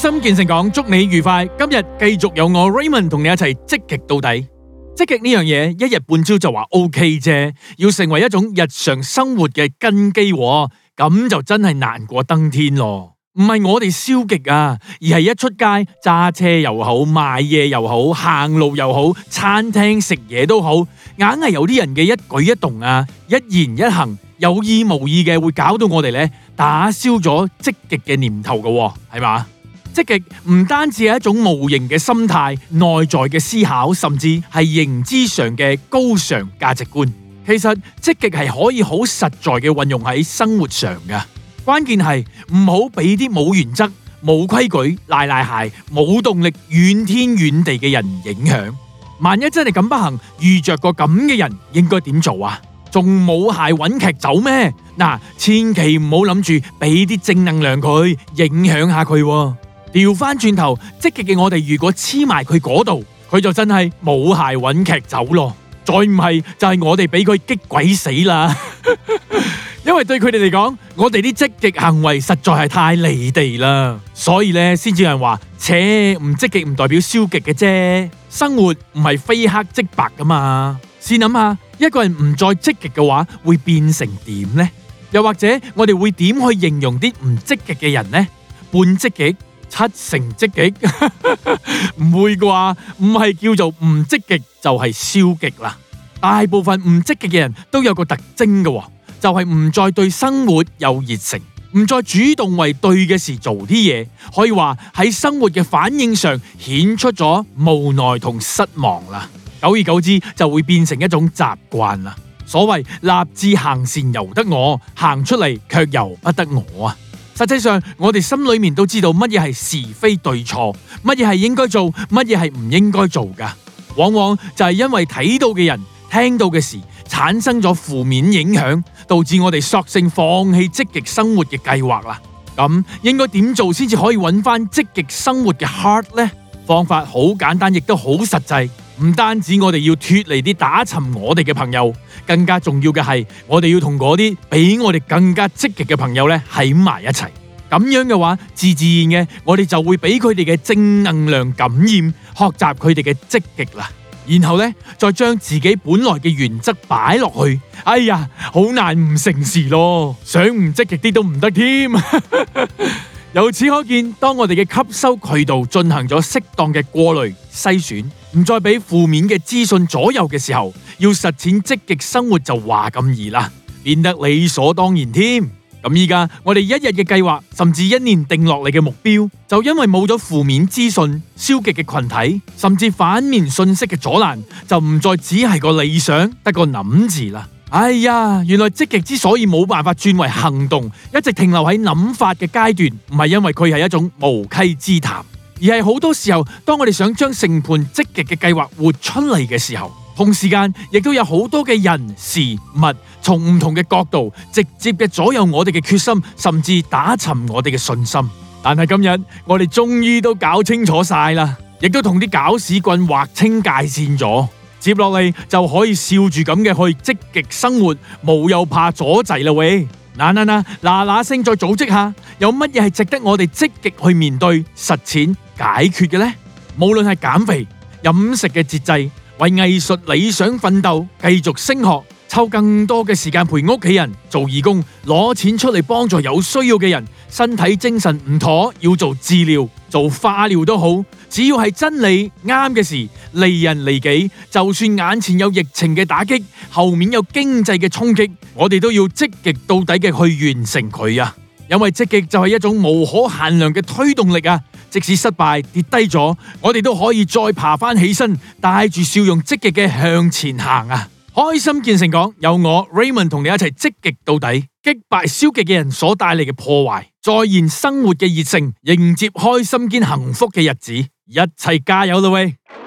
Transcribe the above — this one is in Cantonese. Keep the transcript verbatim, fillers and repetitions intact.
心見誠講，祝你愉快。今日繼續有我 Raymond 同你一齊積極到底。積極呢樣嘢，一日半朝就話 OK 啫，要成為一種日常生活嘅根基，咁就真係難過登天咯。唔係我哋消極啊，而係一出街揸車又好，買嘢又好，行路又好，餐廳食嘢都好，硬係有啲人嘅一舉一動啊，一言一行，有意無意嘅會搞到我哋咧打消咗積極嘅念頭嘅，係嘛？積極唔單止係一種無形嘅心態、內在嘅思考，甚至係認知上嘅高尚價值觀。其實積極係可以好實在嘅運用喺生活上嘅。關鍵係唔好俾啲冇原則、冇規矩、賴賴鞋、冇動力、怨天怨地嘅人影響。萬一真係咁不幸遇着個咁嘅人，應該點做啊？仲冇鞋揾劇走咩？嗱，千祈唔好諗住俾啲正能量佢，影響下佢。調翻轉頭，積極嘅我哋如果黐埋佢嗰度，佢就真係冇鞋揾劇走咯。再唔係就係我哋俾佢激鬼死啦。因為對佢哋嚟講，我哋啲積極行為實在係太離地啦，所以咧先至有人話，切，唔積極唔代表消極嘅啫。生活唔係非黑即白噶嘛。試諗下，一個人唔再積極嘅話，會變成點呢？又或者我哋會點去形容啲唔積極嘅人呢？半積極、七成積極，唔會啩？唔係叫做唔積極就係消極啦。大部分唔積極嘅人都有個特徵嘅，就係唔再對生活有熱誠，唔再主動為對嘅事做啲嘢，可以話喺生活嘅反應上顯出咗無奈同失望啦。久而久之就會變成一種習慣啦。所謂立志行善由得我，行出嚟卻由不得我啊！實際上我哋心裏面都知道乜嘢係是非對錯，乜嘢係應該做，乜嘢係唔應該做噶。往往就係因為睇到嘅人、聽到嘅事產生咗負面影響，導致我哋索性放棄積極生活嘅計劃啦。咁應該點做先至可以揾翻積極生活嘅 heart 呢？方法好簡單，亦都好實際。唔單止我哋要脫離啲打沉我哋嘅朋友，更加重要嘅係我哋要同嗰啲比我哋更加積極嘅朋友咧喺埋一齊。咁樣嘅話，自自然嘅我哋就會俾佢哋嘅正能量感染，學習佢哋嘅積極啦。然後咧，再將自己本來嘅原則擺落去。哎呀，好難唔成事咯，想唔積極啲都唔得添。由此可見，當我哋嘅吸收渠道進行咗適當嘅過濾篩選，唔再俾負面嘅資訊左右嘅時候，要實踐積極生活就話咁易啦，變得理所當然添。咁依家我哋一日嘅計劃，甚至一年定落嚟嘅目標，就因為冇咗負面資訊、消極嘅群體，甚至反面信息嘅阻攔，就唔再只係個理想，得個諗字啦。哎呀，原來積極之所以冇辦法轉為行動，一直停留喺諗法嘅階段，唔係因為佢係一種無稽之談，而係好多時候，當我哋想將成盤積極嘅計劃活出嚟嘅時候，同時間亦都有好多嘅人事物從唔同嘅角度，直接嘅左右我哋嘅決心，甚至打沉我哋嘅信心。但係今日我哋終於都搞清楚晒啦，亦都同啲搞屎棍劃清界線咗。接落嚟就可以笑住咁嘅去積極生活，冇又怕阻滯啦喂！嗱嗱嗱嗱嗱聲再組織下，有乜嘢係值得我哋積極去面對、實踐、解決嘅呢？無論係減肥、飲食嘅節制，為藝術理想奮鬥，繼續升學，抽更多嘅時間陪屋企人，做義工，攞錢出嚟幫助有需要嘅人，身體精神唔妥要做治療、做化療都好，只要係真理啱嘅事，利人利己，就算眼前有疫情嘅打擊，後面有經濟嘅衝擊，我哋都要積極到底嘅去完成佢啊！因為積極就係一種無可限量嘅推動力啊！即使失敗跌低咗，我哋都可以再爬翻起身，帶住笑容積極嘅向前行啊！開心見誠講，有我 Raymond 同你一齊積極到底，擊敗消極嘅人所帶嚟嘅破壞，再現生活嘅熱誠，迎接開心兼幸福嘅日子，一齊加油啦喂！